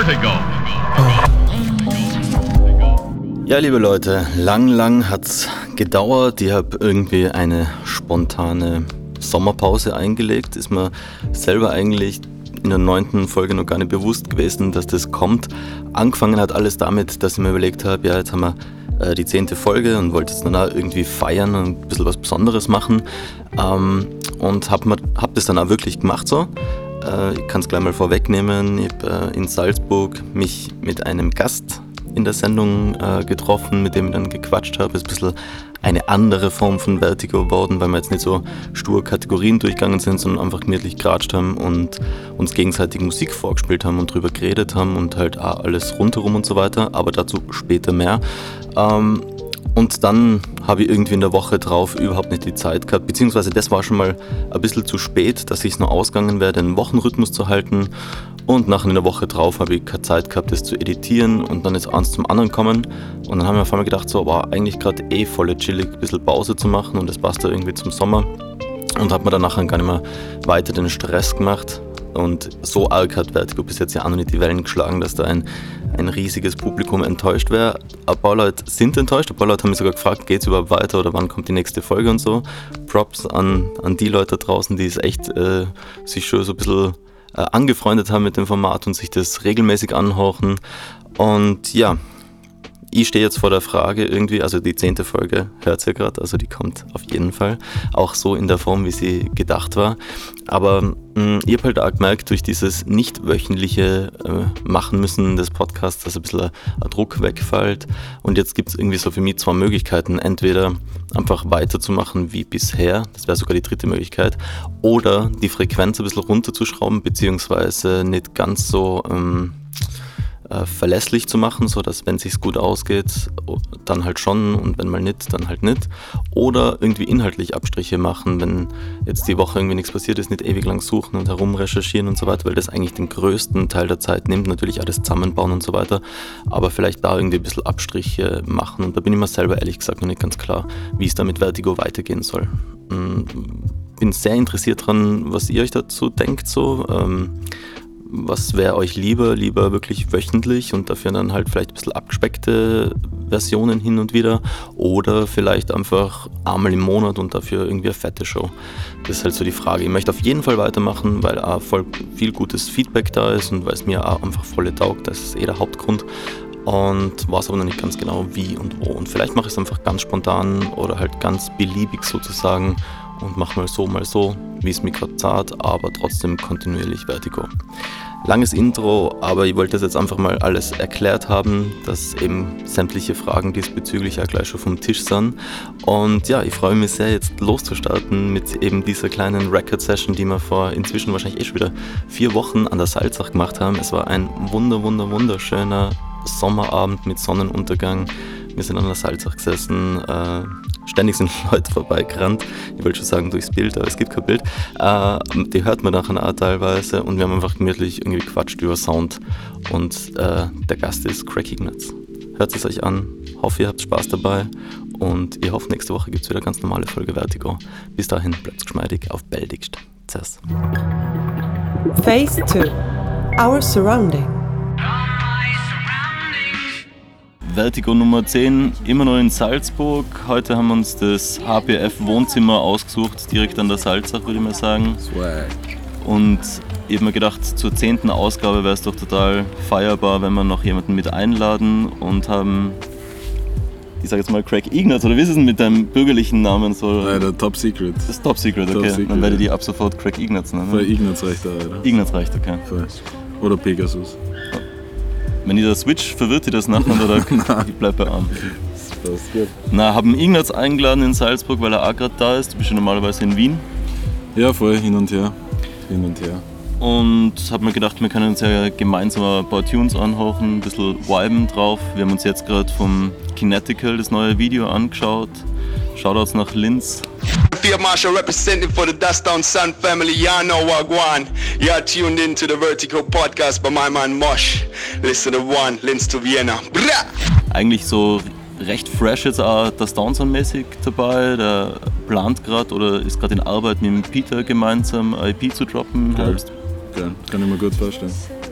Vertigo. Ja, liebe Leute, lang hat's gedauert. Ich habe irgendwie eine spontane Sommerpause eingelegt. Ist mir selber eigentlich in der 9. Folge noch gar nicht bewusst gewesen, dass das kommt. Angefangen hat alles damit, dass ich mir überlegt habe, ja, jetzt haben wir die 10. Folge und wollte jetzt dann auch irgendwie feiern und ein bisschen was Besonderes machen. Und hab das dann auch wirklich gemacht so. Ich kann es gleich mal vorwegnehmen. Ich habe in Salzburg mich mit einem Gast in der Sendung getroffen, mit dem ich dann gequatscht habe. Ist ein bisschen eine andere Form von Vertigo geworden, weil wir jetzt nicht so stur Kategorien durchgegangen sind, sondern einfach gemütlich geratscht haben und uns gegenseitig Musik vorgespielt haben und drüber geredet haben und halt auch alles rundherum und so weiter, aber dazu später mehr. Und dann habe ich irgendwie in der Woche drauf überhaupt nicht die Zeit gehabt, beziehungsweise das war schon mal ein bisschen zu spät, dass ich es noch ausgegangen wäre, den Wochenrhythmus zu halten. Und nachher in der Woche drauf habe ich keine Zeit gehabt, das zu editieren und dann ist eins zum anderen gekommen. Und dann haben wir auf einmal gedacht, so war eigentlich gerade voll chillig, ein bisschen Pause zu machen und das passt da irgendwie zum Sommer. Und hat mir dann nachher gar nicht mehr weiter den Stress gemacht. Und so arg hat Vertigo bis jetzt ja auch noch nicht die Wellen geschlagen, dass da ein riesiges Publikum enttäuscht wäre. Ein paar Leute sind enttäuscht, ein paar Leute haben mich sogar gefragt, geht's überhaupt weiter oder wann kommt die nächste Folge und so. Props an die Leute da draußen, die es echt sich schon so ein bisschen angefreundet haben mit dem Format und sich das regelmäßig anhorchen. Und ja, ich stehe jetzt vor der Frage irgendwie, also die 10. Folge hört ihr gerade, also die kommt auf jeden Fall, auch so in der Form, wie sie gedacht war. Aber ich habe halt auch gemerkt, durch dieses nicht wöchentliche Machen müssen des Podcasts, dass ein bisschen ein Druck wegfällt. Und jetzt gibt es irgendwie so für mich 2 Möglichkeiten. Entweder einfach weiterzumachen wie bisher, das wäre sogar die 3. Möglichkeit, oder die Frequenz ein bisschen runterzuschrauben, beziehungsweise nicht ganz so verlässlich zu machen, sodass, wenn es sich gut ausgeht, dann halt schon und wenn mal nicht, dann halt nicht. Oder irgendwie inhaltlich Abstriche machen, wenn jetzt die Woche irgendwie nichts passiert ist, nicht ewig lang suchen und herum recherchieren und so weiter, weil das eigentlich den größten Teil der Zeit nimmt, natürlich alles zusammenbauen und so weiter, aber vielleicht da irgendwie ein bisschen Abstriche machen und da bin ich mir selber ehrlich gesagt noch nicht ganz klar, wie es da mit Vertigo weitergehen soll. Bin sehr interessiert dran, was ihr euch dazu denkt so. Was wäre euch lieber wirklich wöchentlich und dafür dann halt vielleicht ein bisschen abgespeckte Versionen hin und wieder oder vielleicht einfach einmal im Monat und dafür irgendwie eine fette Show. Das ist halt so die Frage. Ich möchte auf jeden Fall weitermachen, weil auch voll viel gutes Feedback da ist und weil es mir auch einfach voll taugt. Das ist der Hauptgrund. Und weiß aber noch nicht ganz genau wie und wo. Und vielleicht mache ich es einfach ganz spontan oder halt ganz beliebig sozusagen und mache mal so, wie es mir gerade zahlt, aber trotzdem kontinuierlich Vertigo. Langes Intro, aber ich wollte das jetzt einfach mal alles erklärt haben, dass eben sämtliche Fragen diesbezüglich auch gleich schon vom Tisch sind. Und ja, ich freue mich sehr, jetzt loszustarten mit eben dieser kleinen Record-Session, die wir vor inzwischen wahrscheinlich schon wieder 4 Wochen an der Salzach gemacht haben. Es war ein wunderschöner Sommerabend mit Sonnenuntergang. Wir sind an der Salzach gesessen, ständig sind Leute vorbeigerannt. Ich wollte schon sagen durchs Bild, aber es gibt kein Bild. Die hört man nachher auch teilweise und wir haben einfach gemütlich irgendwie gequatscht über Sound. Und der Gast ist Craig Ignatz. Hört es euch an, hoffe ihr habt Spaß dabei und ich hoffe nächste Woche gibt es wieder eine ganz normale Folge Vertigo. Bis dahin bleibt geschmeidig auf Beldigst. Tschüss. Phase 2. Our Surrounding. Vertigo Nummer 10, immer noch in Salzburg. Heute haben wir uns das HPF-Wohnzimmer ausgesucht, direkt an der Salzach, würde ich mal sagen. Swag. Und ich habe mir gedacht, zur 10. Ausgabe wäre es doch total feierbar, wenn wir noch jemanden mit einladen und haben, ich sage jetzt mal Craig Ignatz, oder wie ist es denn mit deinem bürgerlichen Namen? So? Nein, der Top Secret. Das ist Top Secret, okay. Top Secret. Dann werde ich die ab sofort Craig Ignatz nennen. Voll Ignatz reicht da, oder? Ignatz reicht, okay. Voll. Oder Pegasus. Wenn ich da switch, verwirrt ihr das nachher oder ich bleib bei Arm? Das passt gut. Na, haben Ignatz eingeladen in Salzburg, weil er auch gerade da ist. Du bist ja normalerweise in Wien. Ja, voll, hin und her. Und hab mir gedacht, wir können uns ja gemeinsam ein paar Tunes anhören, ein bisschen viben drauf. Wir haben uns jetzt gerade vom Kinetical das neue Video angeschaut. Shoutouts nach Linz. Field Marshal representing for the Dust Down Sun family. Y'all know what going. You're tuned in to the Vertigo Podcast by my man Mosh. Listen to one, Linz to Vienna. Bra! Eigentlich so recht fresh jetzt auch das Downsound-mäßig dabei. Der plant gerade oder ist gerade in Arbeit mit dem Peter gemeinsam ein EP zu droppen. Geil, kann ich mir gut vorstellen.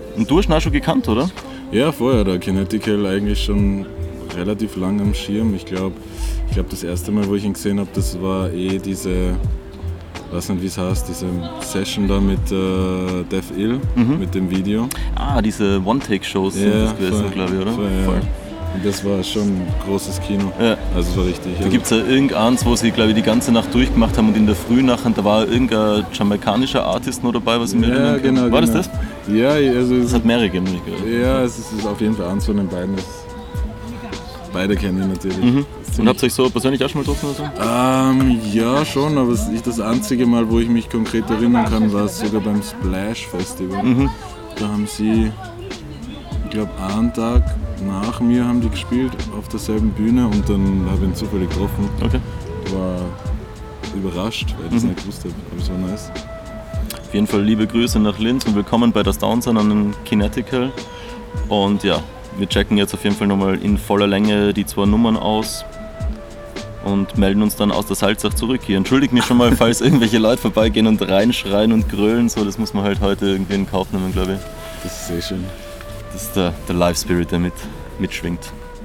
Und du hast ihn auch schon gekannt, oder? Ja, vorher, der Kinetical eigentlich schon relativ lang am Schirm. Ich glaube, das erste Mal, wo ich ihn gesehen habe, das war diese, weiß nicht wie es heißt, diese Session da mit Dev Ill, mit dem Video. Ah, diese One-Take-Shows sind das gewesen, glaube ich, oder? Voll. Und das war schon ein großes Kino. Ja. Also es war richtig. Da gibt es ja irgendeins, wo sie, glaube ich, die ganze Nacht durchgemacht haben und in der Früh nachher, da war irgendein jamaikanischer Artist noch dabei, was ich mir erinnern kann. Genau, War genau. das? Ja, also Das hat mehrere gegeben, nicht gehört. Ja, es ist auf jeden Fall eins von den beiden. Beide kenne ich natürlich. Und habt ihr euch so persönlich auch schon mal getroffen oder so? Ja, schon, aber das einzige Mal, wo ich mich konkret erinnern kann, war sogar beim Splash Festival. Da haben sie, ich glaube, einen Tag nach mir haben die gespielt auf derselben Bühne und dann habe ich ihn zufällig getroffen. Okay. War überrascht, weil ich das nicht gewusst habe, aber es war nice. Auf jeden Fall liebe Grüße nach Linz und willkommen bei der Downsound an den Kinetical. Und ja, wir checken jetzt auf jeden Fall nochmal in voller Länge die 2 Nummern aus und melden uns dann aus der Salzach zurück hier. Entschuldigt mich schon mal, falls irgendwelche Leute vorbeigehen und reinschreien und grölen, so, das muss man halt heute irgendwie in Kauf nehmen, glaube ich. Das ist sehr schön. Das ist der Live-Spirit, der mitschwingt.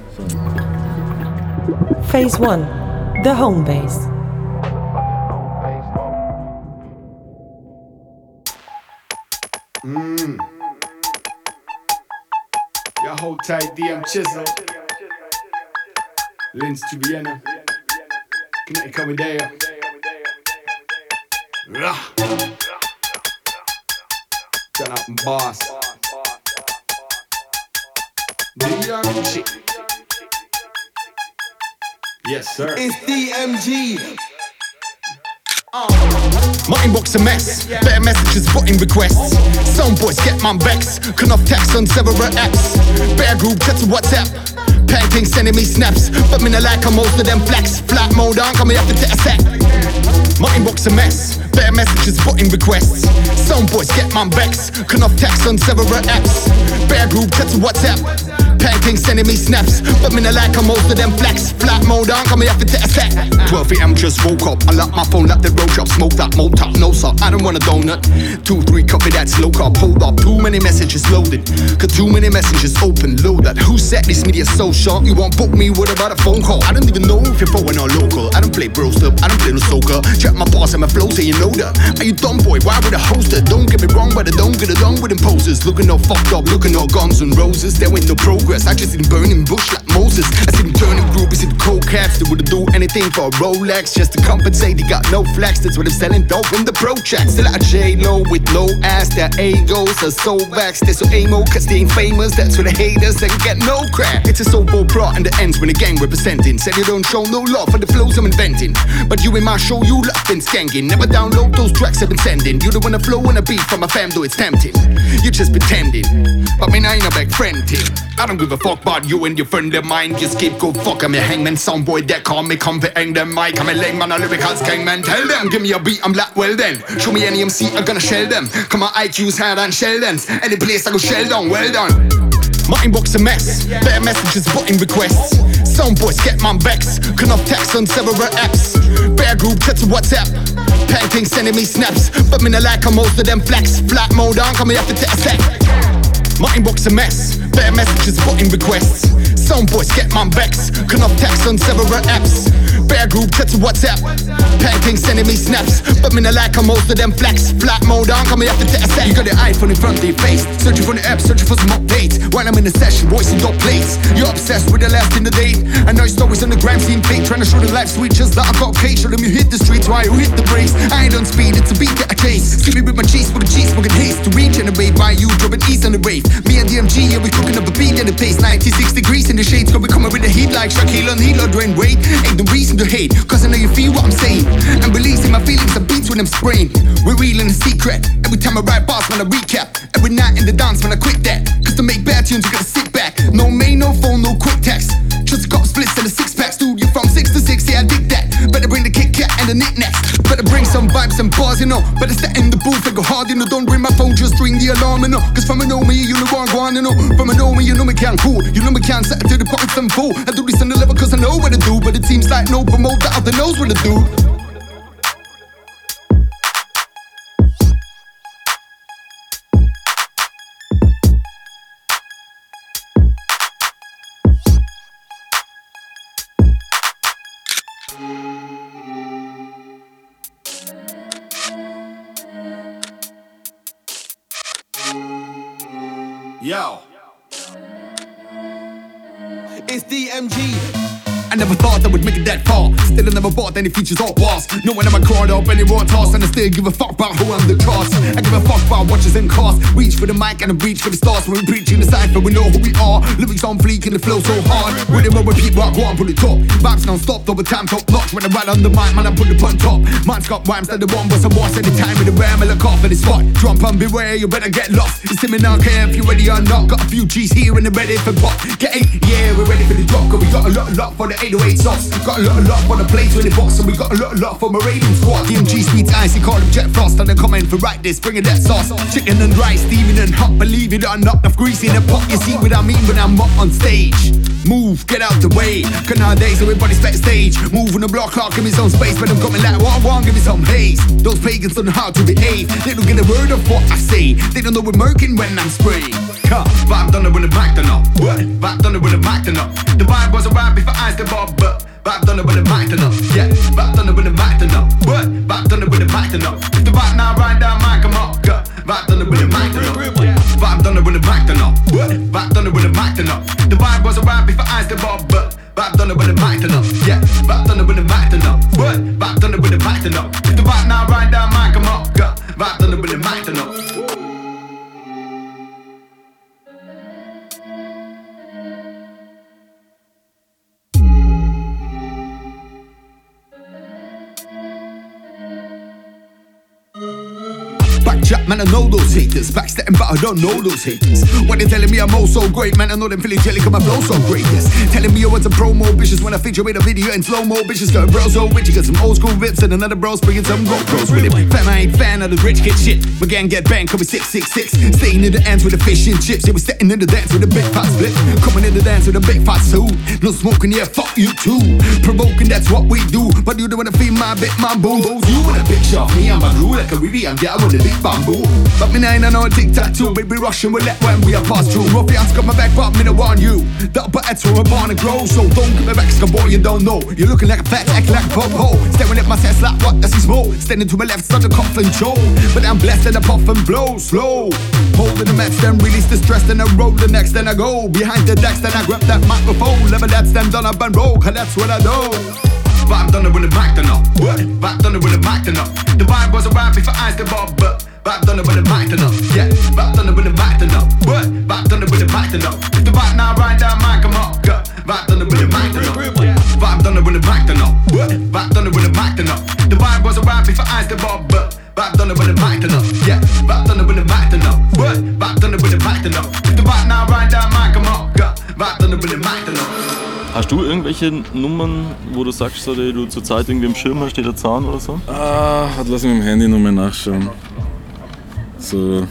Phase 1. The Home Base. Yeah, hold tight, DM Chisel. Linz to Vienna. Connecticut with there. Turn up and boss. DMG. Yes, sir. It's DMG. My inbox a mess, better messages, button requests. Some boys get my vex, can off text on several apps. Bear group, chat to WhatsApp. Painting sending me snaps, but me no like how most of them flex. Flat mode on, coming up to take a sec. My inbox a mess, better messages, button requests. Some boys get my vex, can off text on several apps. Bear group, chat to WhatsApp. Painting sending me snaps, but me no like how most of them flex. Flat mode on, coming up to take a sec. 12 AM just woke up, I lock my phone, let the road shop, smoke that mold top, no sir, I don't want a donut. 2-3 coffee, that's low carb, hold up, too many messages loaded. Cause too many messages open, load that. Who said this media so short? You won't book me, what about a phone call? I don't even know if you're foreign or local. I don't play bro stuff, I don't play no soccer. Check my boss and my flow, so you know that. Are you dumb boy, why would I host it? Don't get me wrong, but I don't get it done with imposters. Looking all fucked up, looking all guns and roses. There ain't no progress, I just see them burning bush like Moses. I see them turning groupies into cold cats. They wouldn't do anything for a Rolex just to compensate. They got no flex, that's what they're selling dope in the pro chat. Still at J-Lo with low ass, their egos are so vexed. They're so emo cause they ain't famous, that's where the haters they can get no crap. It's a sober pro and the ends when the gang representing. Said you don't show no love for the flows I'm inventing, but you in my show you love been skanking. Never download those tracks I've been sending. You don't wanna flow on a beat from my fam though it's tempting. You just pretending, but me I ain't a back friend team. I don't give a fuck about you and your friend of mine. Just keep go fuck, I'm a hangman soundboy that call me come for hang them mic. I'm a leg man, a lyrical man. Tell them, give me a beat, I'm like, well then. Show me any MC, I'm gonna shell them. Come on, IQ's higher than Sheldon's. Any place I go shell down, well done. My inbox a mess, better messages, button requests. Some boys get my vex, can off text on several apps. Bear group, chat to WhatsApp. Painting sending me snaps, but me no like how most of them flex. Flat mode on, coming up to take a sec. My inbox a mess, better messages, button requests. Some boys get my vex, can off text on several apps. Bear group, chat to WhatsApp. Painting sending me snaps, but me no like how most of them flex. Flat mode on, coming up to take a sec. You got the iPhone in front of your face, searching for the app, searching for some updates. While I'm in a session, voicing dot plates. You're obsessed with the last in the date. I know your stories on the gram scene fake, trying to show the life sweet just like I got cake. Show them you hit the streets while you hit the brakes. I ain't on speed, it's a beat that I chase. See me with my cheese, smoking haste. To regenerate by you, dropping east on the rave. Me and DMG, yeah, we cooking up a beat and it tastes 96 degrees in the shades. Gonna be coming with the heat like Shaquille O'Neal or Dwayne Wade. Ain't no reason to hate, cause I know you feel what I'm saying. And releasing my feelings and beats when I'm spraying. We're reeling a secret. Every time I write bars when I recap. Every night in the dance when I quit that. Cause to make bad tunes you gotta sit back. No mail, no phone, no quick text. Just a couple splits and a 6-pack. Studio from 6 to 6, yeah I dig that. Better bring the Kit Kat and the knickknacks. Better bring some vibes and bars, you know. Better step in the booth and go hard, you know. Don't ring my phone, just ring the alarm, you know. Cause from a know me, you know what I want, you know. From a know me, you know me can't cool. You know me can't set it to the pockets and full. I do this on the level cause I know what to do. But it seems like no promoter out there knows what to do. Yo. It's DMG. I never thought I would make it that far. Still I never bought any features or bars. No one ever caught up any raw toss. And I still give a fuck about who I'm the cause. I give a fuck about watches and cars. Reach for the mic and I reach for the stars. When we preach in the cypher we know who we are. Lyrics on fleek and the flow so hard. Rhythm over repeat rock one put it top. Vibes non-stop over time top notch. When I ride on the mic man I put it on top. Mine's got rhymes that the one was a boss. Anytime with the ram I look off at the spot. Jump and beware you better get lost. It's him and I don't care if you're ready or not. Got a few G's here and they're ready for pop. Get it? Yeah we're ready for the drop. Cause we got a lot for the 808 sauce. Got a lot for the plates with the box. And we got a lot for my raiding squad. DMG speeds icy, call them Jet Frost. And they come in for right this, bringing that sauce. Chicken and rice, steaming and hot. Believe it or not, enough grease in the pot. You see what I mean when I'm up on stage. Move, get out the way. Cause nowadays everybody's backstage. Move on the block clock, give me some space. But I'm coming like one, give me some haze. Those pagans don't know how to behave. They don't get a word of what I say. They don't know we're murking when I'm spraying. Vibe done it with the mic done up. What? Vibe done it with the mic done up. The vibe was alright before I the bob, but vibe done it with the mic done up. Yeah, vibe done it with the mic done up. What? Vibe done it with the mic done up. If the vibe now right down mic come up. Vibe done it with the mic done up. Vibe done it with the mic done up. What? Vibe done it with the mic done up. The vibe was alright before I the bob, but vibe done it with the mic done up. Yeah, vibe done it with the mic done up. What? Vibe done it with the mic done up. If the vibe now right down mic come up. Vibe done it with the mic done up. Backchat, man, I know those haters. Backstabbing, but I don't know those haters. When they telling me I'm oh so great, man, I know them feeling jelly cause my flow so great, yes. Telling me I want some promo bitches when I feature in a video in slow-mo. Bitches got bro so rich, you got some old school rips and another bro's bringing some GoPros with him. Fam, I ain't fan of the rich kid shit. My gang get banged, call me 666. Staying in the ends with the fish and chips. Yeah, we stepping in the dance with a big fat split. Coming in the dance with a big fat suit. No smoking, yeah, fuck you too. Provoking, that's what we do. But you don't wanna feel my bit, my boo. You want a picture of me, I'm a rule like a Rivi, I'm down with a big bamboo. But me nine, I know a tic-tac-toe. Baby Russian with that when we are past through. Ruffians got my back, but me no want you. That but that's where we're born to grow. So don't give me back, cause boy you don't know. You're looking like a fat, acting like a pop-hole. Staring at my sense like what does he smoke? Standing to my left, start to cough and choke. But I'm blessed and I puff and blow slow. Holding the match, then release the stress, then I roll the next, then I go behind the decks, then I grab that microphone. Level that stand on up and roll, cause that's what I do. Vibe done it with the mic done up. What? Vibe done it with the mic done up. The vibe was alright before I the bob, but vibe done it with the mic done up. Yeah, vibe done it with the mic done up. What? Vibe done it with the mic done up. If the vibe now right down mic come up. Vibe done it with the mic done up. Vibe done it with the mic done up. What? Vibe done it with the mic done up. The vibe was alright before I the bob, but vibe done it with the mic done up. Yeah, vibe done it with the mic done up. What? Vibe done it with the mic done up. If the vibe now right down mic come up. Vibe done it with the mic done up. Hast du irgendwelche Nummern, wo du sagst, so, die du zur Zeit irgendwie im Schirm hast, die der Zahn oder so? Lass mich im Handy nochmal nachschauen. So,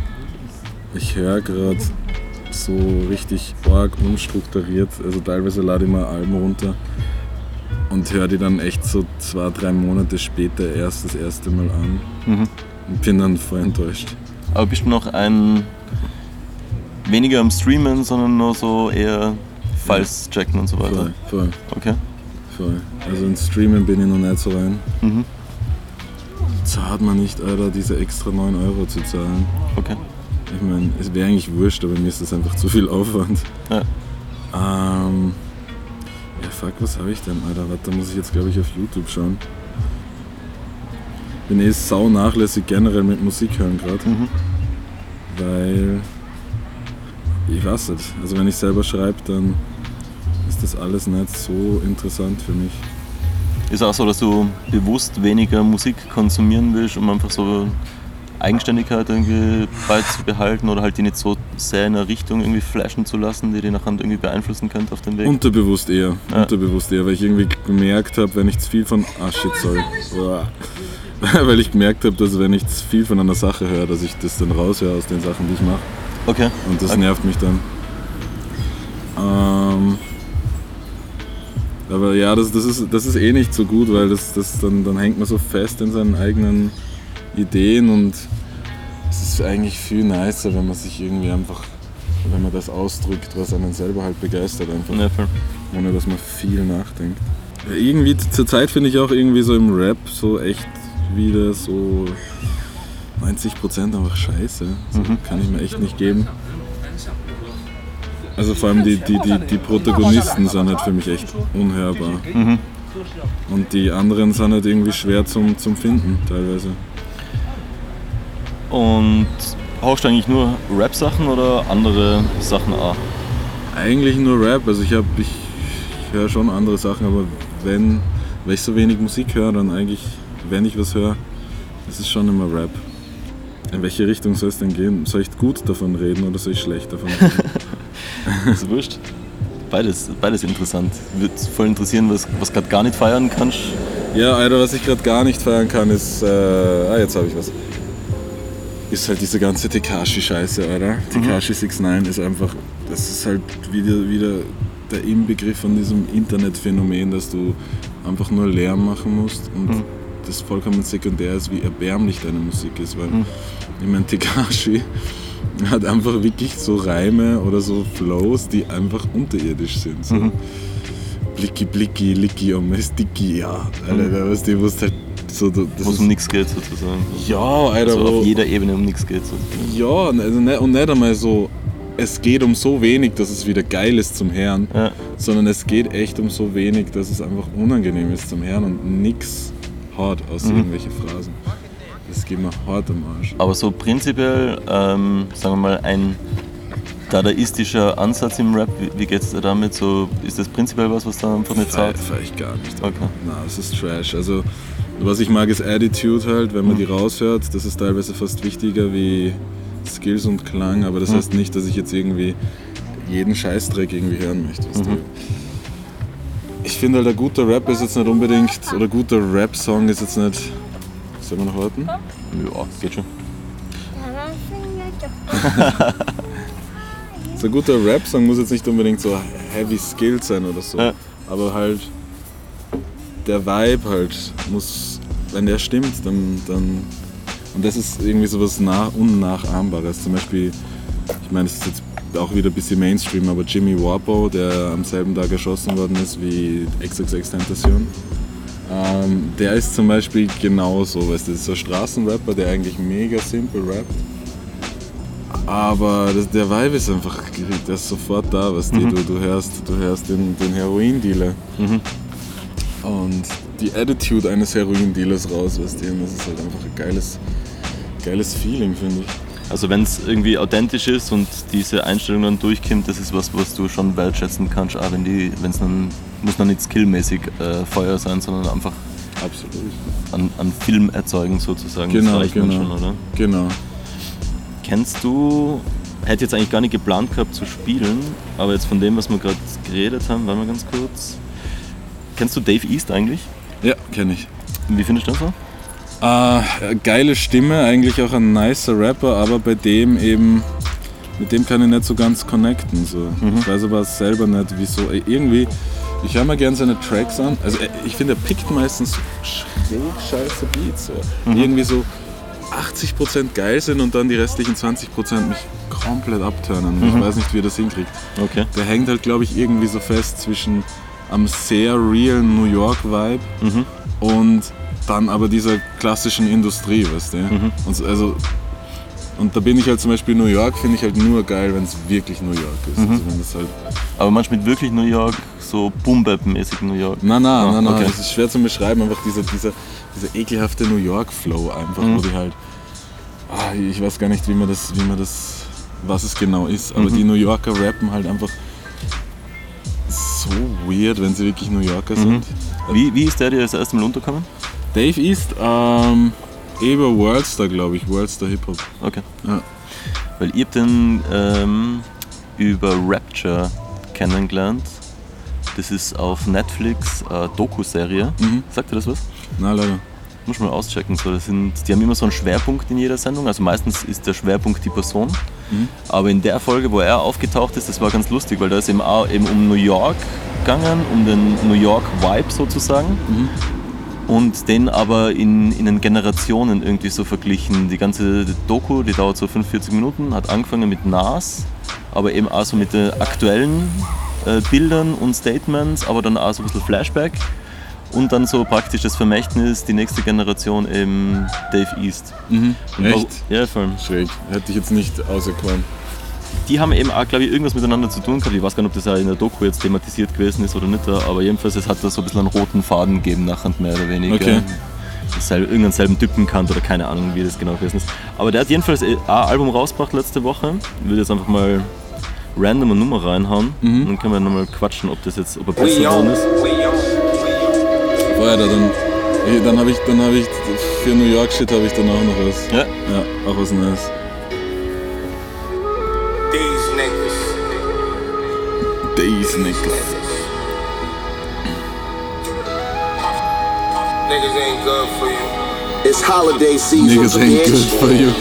ich höre gerade so richtig arg unstrukturiert. Also teilweise lade ich mal Alben runter und höre die dann echt so 2-3 Monate später erst das erste Mal an und bin dann voll enttäuscht. Aber bist du noch ein weniger am Streamen, sondern nur so eher Files checken und so weiter? Voll. Okay. Voll. Also in Streamen bin ich noch nicht so rein. Zahlt man nicht, Alter, diese extra 9 € zu zahlen. Okay. Ich meine, es wäre eigentlich wurscht, aber mir ist das einfach zu viel Aufwand. Ja. Ja, fuck, was habe ich denn, Alter? Warte, da muss ich jetzt, glaube ich, auf YouTube schauen. Bin sau nachlässig generell mit Musik hören gerade. Weil, ich weiß nicht, also wenn ich selber schreibe, dann ist das alles nicht so interessant für mich. Ist auch so, dass du bewusst weniger Musik konsumieren willst, um einfach so Eigenständigkeit irgendwie beizubehalten oder halt die nicht so sehr in eine Richtung irgendwie flashen zu lassen, die nachher irgendwie beeinflussen könnte auf dem Weg? Unterbewusst eher, weil ich irgendwie gemerkt habe, wenn ich zu viel von... Weil ich gemerkt habe, dass wenn ich zu viel von einer Sache höre, dass ich das dann raushöre aus den Sachen, die ich mache. Okay. Und das nervt mich dann. Aber ja, das ist eh nicht so gut, weil dann hängt man so fest in seinen eigenen Ideen und es ist eigentlich viel nicer, wenn man sich irgendwie einfach, wenn man das ausdrückt, was einen selber halt begeistert einfach. Ja, voll. Ohne dass man viel nachdenkt. Ja, irgendwie zur Zeit finde ich auch irgendwie so im Rap so echt wieder so, 90% einfach scheiße. Also kann ich mir echt nicht geben. Also vor allem die Protagonisten sind halt für mich echt unhörbar. Und die anderen sind halt irgendwie schwer zum Finden teilweise. Und hörst du eigentlich nur Rap-Sachen oder andere Sachen auch? Eigentlich nur Rap, also ich höre schon andere Sachen, aber weil ich so wenig Musik höre, dann eigentlich, wenn ich was höre, ist es schon immer Rap. In welche Richtung soll es denn gehen? Soll ich gut davon reden oder soll ich schlecht davon reden? Das ist wurscht. Beides interessant. Würde voll interessieren, was gerade gar nicht feiern kannst. Ja, Alter, was ich gerade gar nicht feiern kann, ist, jetzt habe ich was. Ist halt diese ganze Tekashi-Scheiße, Alter. Tekashi 69 ist einfach, das ist halt wieder der Inbegriff von diesem Internetphänomen, dass du einfach nur Lärm machen musst und das vollkommen sekundär ist, wie erbärmlich deine Musik ist, weil ich meine, Tekashi hat einfach wirklich so Reime oder so Flows, die einfach unterirdisch sind. So. Blicki, blicki, licki, sticky, ja. Alter, weißt du, wo es halt so... Wo es um nichts geht, sozusagen. Ja, Alter. Also auf jeder Ebene um nichts geht, sozusagen. Ja, und nicht einmal so, es geht um so wenig, dass es wieder geil ist zum Hören, sondern es geht echt um so wenig, dass es einfach unangenehm ist zum Hören und nichts hat aus irgendwelche Phrasen. Das geht mir hart am Arsch. Aber so prinzipiell, sagen wir mal, ein dadaistischer Ansatz im Rap, wie geht es dir damit? So, ist das prinzipiell was da einfach nicht zahlt? Feier ich gar nicht. Okay. Nein, das ist Trash. Also, was ich mag, ist Attitude halt, wenn man die raushört. Das ist teilweise fast wichtiger wie Skills und Klang, aber das heißt nicht, dass ich jetzt irgendwie jeden Scheißdreck irgendwie hören möchte. Weißt du? Ich finde halt, ein guter Rap ist jetzt nicht unbedingt, oder ein guter Rap-Song ist jetzt nicht... Sollen wir noch warten? Ja, geht schon. So ein guter Rap-Song muss jetzt nicht unbedingt so heavy skilled sein oder so, aber halt der Vibe halt muss, wenn der stimmt, dann und das ist irgendwie sowas Unnachahmbares. Zum Beispiel, ich meine, es ist jetzt auch wieder ein bisschen Mainstream, aber Jimmy Warpo, der am selben Tag erschossen worden ist wie XXXTentacion, der ist zum Beispiel genauso, weißt du, das ist so ein Straßenrapper, der eigentlich mega simpel rappt. Aber der Vibe ist einfach, der ist sofort da, weißt du, du hörst den Heroin-Dealer und die Attitude eines Heroin-Dealers raus, weißt du, und das ist halt einfach ein geiles Feeling, finde ich. Also wenn es irgendwie authentisch ist und diese Einstellung dann durchkommt, das ist was du schon wertschätzen kannst, auch wenn es dann, muss dann nicht skillmäßig Feuer sein, sondern einfach absolut an Film erzeugen sozusagen, genau, das reicht dann schon, oder? Genau. Kennst du, hätte jetzt eigentlich gar nicht geplant gehabt zu spielen, aber jetzt von dem, was wir gerade geredet haben, warte mal ganz kurz. Kennst du Dave East eigentlich? Ja, kenne ich. Wie findest du das so? Geile Stimme, eigentlich auch ein nicer Rapper, aber bei dem eben, mit dem kann ich nicht so ganz connecten. So. Ich weiß aber selber nicht, wieso. Irgendwie, ich höre mir gerne seine Tracks an. Also ich finde, er pickt meistens schräg scheiße Beats. So. Irgendwie so 80% geil sind und dann die restlichen 20% mich komplett abturnen. Ich weiß nicht, wie er das hinkriegt. Okay. Der hängt halt, glaube ich, irgendwie so fest zwischen einem sehr realen New York Vibe und dann aber dieser klassischen Industrie, weißt du? Und da bin ich halt zum Beispiel New York, finde ich halt nur geil, wenn es wirklich New York ist. Also wenn das halt aber manchmal mit wirklich New York, so Boom-Bap-mäßig New York? Nein, okay. Das ist schwer zu beschreiben, einfach dieser ekelhafte New York-Flow einfach, wo die halt, ich weiß gar nicht, wie man das, was es genau ist, aber die New Yorker rappen halt einfach so weird, wenn sie wirklich New Yorker sind. Wie ist der dir das erste Mal untergekommen? Dave East, über Worldstar, glaube ich, Worldstar Hip-Hop. Okay. Ja. Weil ich hab den über Rapture kennengelernt. Das ist auf Netflix eine Doku-Serie. Sagt dir das was? Nein, leider. Muss man mal auschecken. So, die haben immer so einen Schwerpunkt in jeder Sendung. Also meistens ist der Schwerpunkt die Person. Aber in der Folge, wo er aufgetaucht ist, das war ganz lustig, weil da ist eben auch um New York gegangen, um den New York Vibe sozusagen. Und den aber in den Generationen irgendwie so verglichen. Die ganze Doku, die dauert so 45 Minuten, hat angefangen mit Nas, aber eben auch so mit den aktuellen Bildern und Statements, aber dann auch so ein bisschen Flashback. Und dann so praktisch das Vermächtnis, die nächste Generation eben Dave East. Echt? Ja, voll. Schräg. Hätte ich jetzt nicht auserkoren. Die haben eben auch, glaube ich, irgendwas miteinander zu tun gehabt. Ich weiß gar nicht, ob das auch in der Doku jetzt thematisiert gewesen ist oder nicht, aber jedenfalls, es hat da so ein bisschen einen roten Faden gegeben, nachher mehr oder weniger. Okay. Irgendeinen selben Typen kannt oder keine Ahnung, wie das genau gewesen ist. Aber der hat jedenfalls ein Album rausgebracht letzte Woche. Ich würde jetzt einfach mal random eine Nummer reinhauen. Und dann können wir nochmal quatschen, ob er besser geworden ist. Weiter, dann habe ich für New York Shit habe ich dann auch noch was. Ja. Ja, auch was Neues. These niggas. Niggas ain't good for you. It's holiday season. Niggas ain't good for you.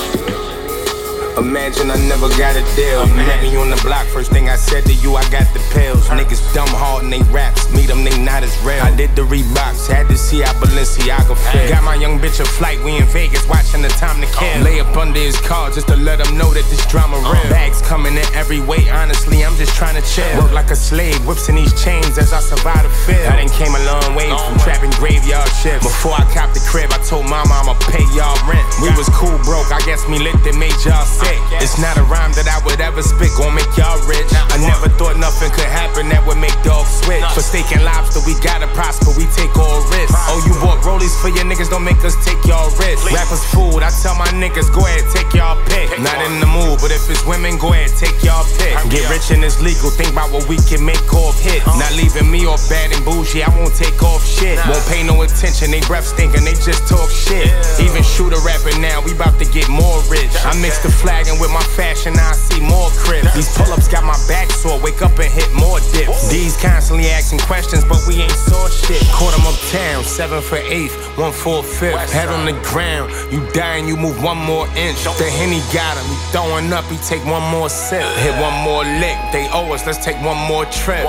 Imagine I never got a deal. You met me on the block, first thing I said to you, I got the pills. Niggas dumb hard and they raps, meet them, they not as real. I did the Reeboks, had to see how Balenciaga feel. Got my young bitch a flight, we in Vegas, watching the time to kill. Lay up under his car just to let him know that this drama real. Bags coming in every way, honestly, I'm just trying to chill. Work like a slave, whips in these chains as I survive the field. I done came a long way from trapping graveyard shifts. Before I copped the crib, I told mama I'ma pay y'all rent. We was cool broke, I guess me lit that made y'all sick. It's not a rhyme that I would ever spit, gon' make y'all rich. I never thought nothing could happen that would make dogs switch. For steak and lobster, we gotta prosper, we take all risks. Oh, you bought rollies for your niggas, don't make us take y'all risks. Rappers food, I tell my niggas, go ahead, take y'all pick. Not in the mood, but if it's women, go ahead, take y'all pick. Get rich and it's legal, think about what we can make off hits. Not leaving me off bad and bougie, I won't take off shit. Won't pay no attention, they breath stinking, they just talk shit. Even shooter rapping now, we bout to get more rich. I mix the flagging with my fashion, now I see more cribs. These pull-ups got my back sore, wake up and hit more dips. These constantly asking questions, but we ain't saw shit. Caught them uptown, 7 for 8th, 1 for 5th. Head on the ground, you dying, you move 1 more inch. The Henny got him, he throwing up, he take 1 more sip. Hit 1 more lick, they owe us, let's take 1 more trip.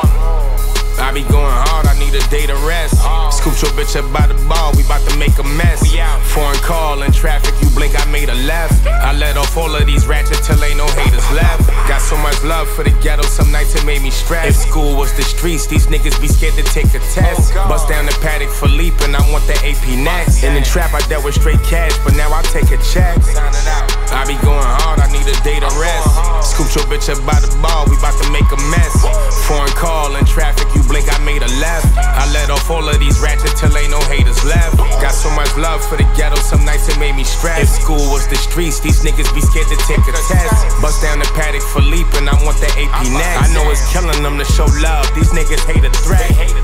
I be going hard, I need a day to rest. Scoop your bitch up by the ball, we bout to make a mess. Foreign call in traffic, you blink, I made a left. I let off all of these ratchets till ain't no haters left. Got so much love for the ghetto, some nights it made me stress. If school was the streets, these niggas be scared to take a test. Bust down the paddock for Leap and I want the AP next. In the trap I dealt with straight cash, but now I take a check. I be going hard, I need a day to rest. Scoop your bitch up by the ball, we bout to make a mess. Foreign call in traffic, you blink, I made a left. I let off all of these ratchets till ain't no haters left. Got so much love for the ghetto, some nights it made me stress. If school was the streets, these niggas be scared to take a test. Bust down the paddock for Leap and I want the AP next. I know it's killing them to show love, these niggas hate a threat.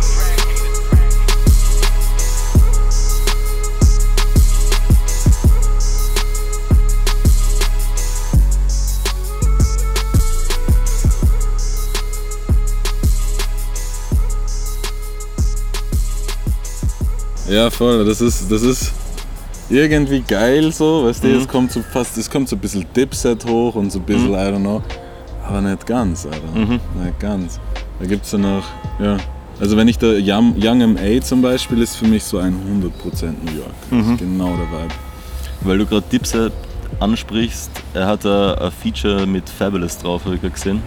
Ja, voll, das ist irgendwie geil so, weißt du, es kommt so ein bisschen Dipset hoch und so ein bisschen, I don't know, aber nicht ganz, Alter, nicht ganz. Da gibt's ja noch, ja, also wenn ich da Young M.A. zum Beispiel ist für mich so 100% New York, das ist genau der Vibe. Weil du gerade Dipset ansprichst, er hat ein Feature mit Fabulous drauf, habe ich gerade gesehen.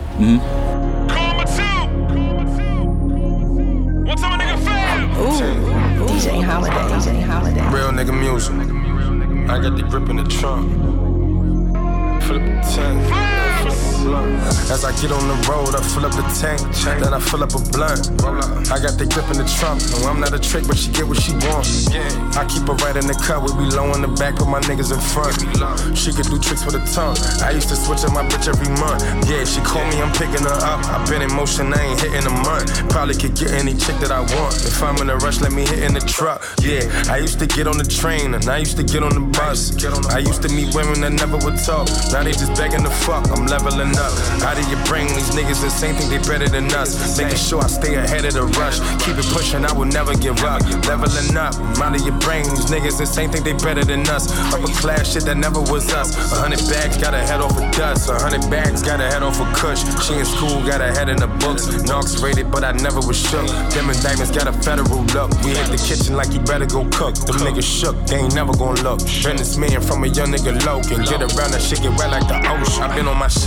DJ Holiday. Real nigga music. I got the grip in the trunk. Flip the tank. As I get on the road, I fill up the tank. Then I fill up a blunt. I got the grip in the trunk. No, I'm not a trick, but she get what she wants. I keep her right in the cut. We be low in the back, put my niggas in front. She could do tricks with her tongue. I used to switch up my bitch every month. Yeah, she call me, I'm picking her up. I been in motion, I ain't hitting a month. Probably could get any chick that I want. If I'm in a rush, let me hit in the truck. Yeah, I used to get on the train and I used to get on the bus. I used to meet women that never would talk. Now they just begging to fuck. I'm leveling up. Out of your brain, these niggas the same thing, they better than us. Making sure I stay ahead of the rush. Keep it pushing, I will never give up. Leveling up, out of your brain, these niggas the same thing, they better than us. Upper class shit that never was us. 100 bags, got a head off of dust. 100 bags, got a head off of kush. She in school, got a head in the books. Knox rated, but I never was shook. Them indictments got a federal look. We hit the kitchen like you better go cook. Them niggas shook, they ain't never gon' look. Businessman from a young nigga low. Can get around that shit, get wet like the ocean. I been on my shit.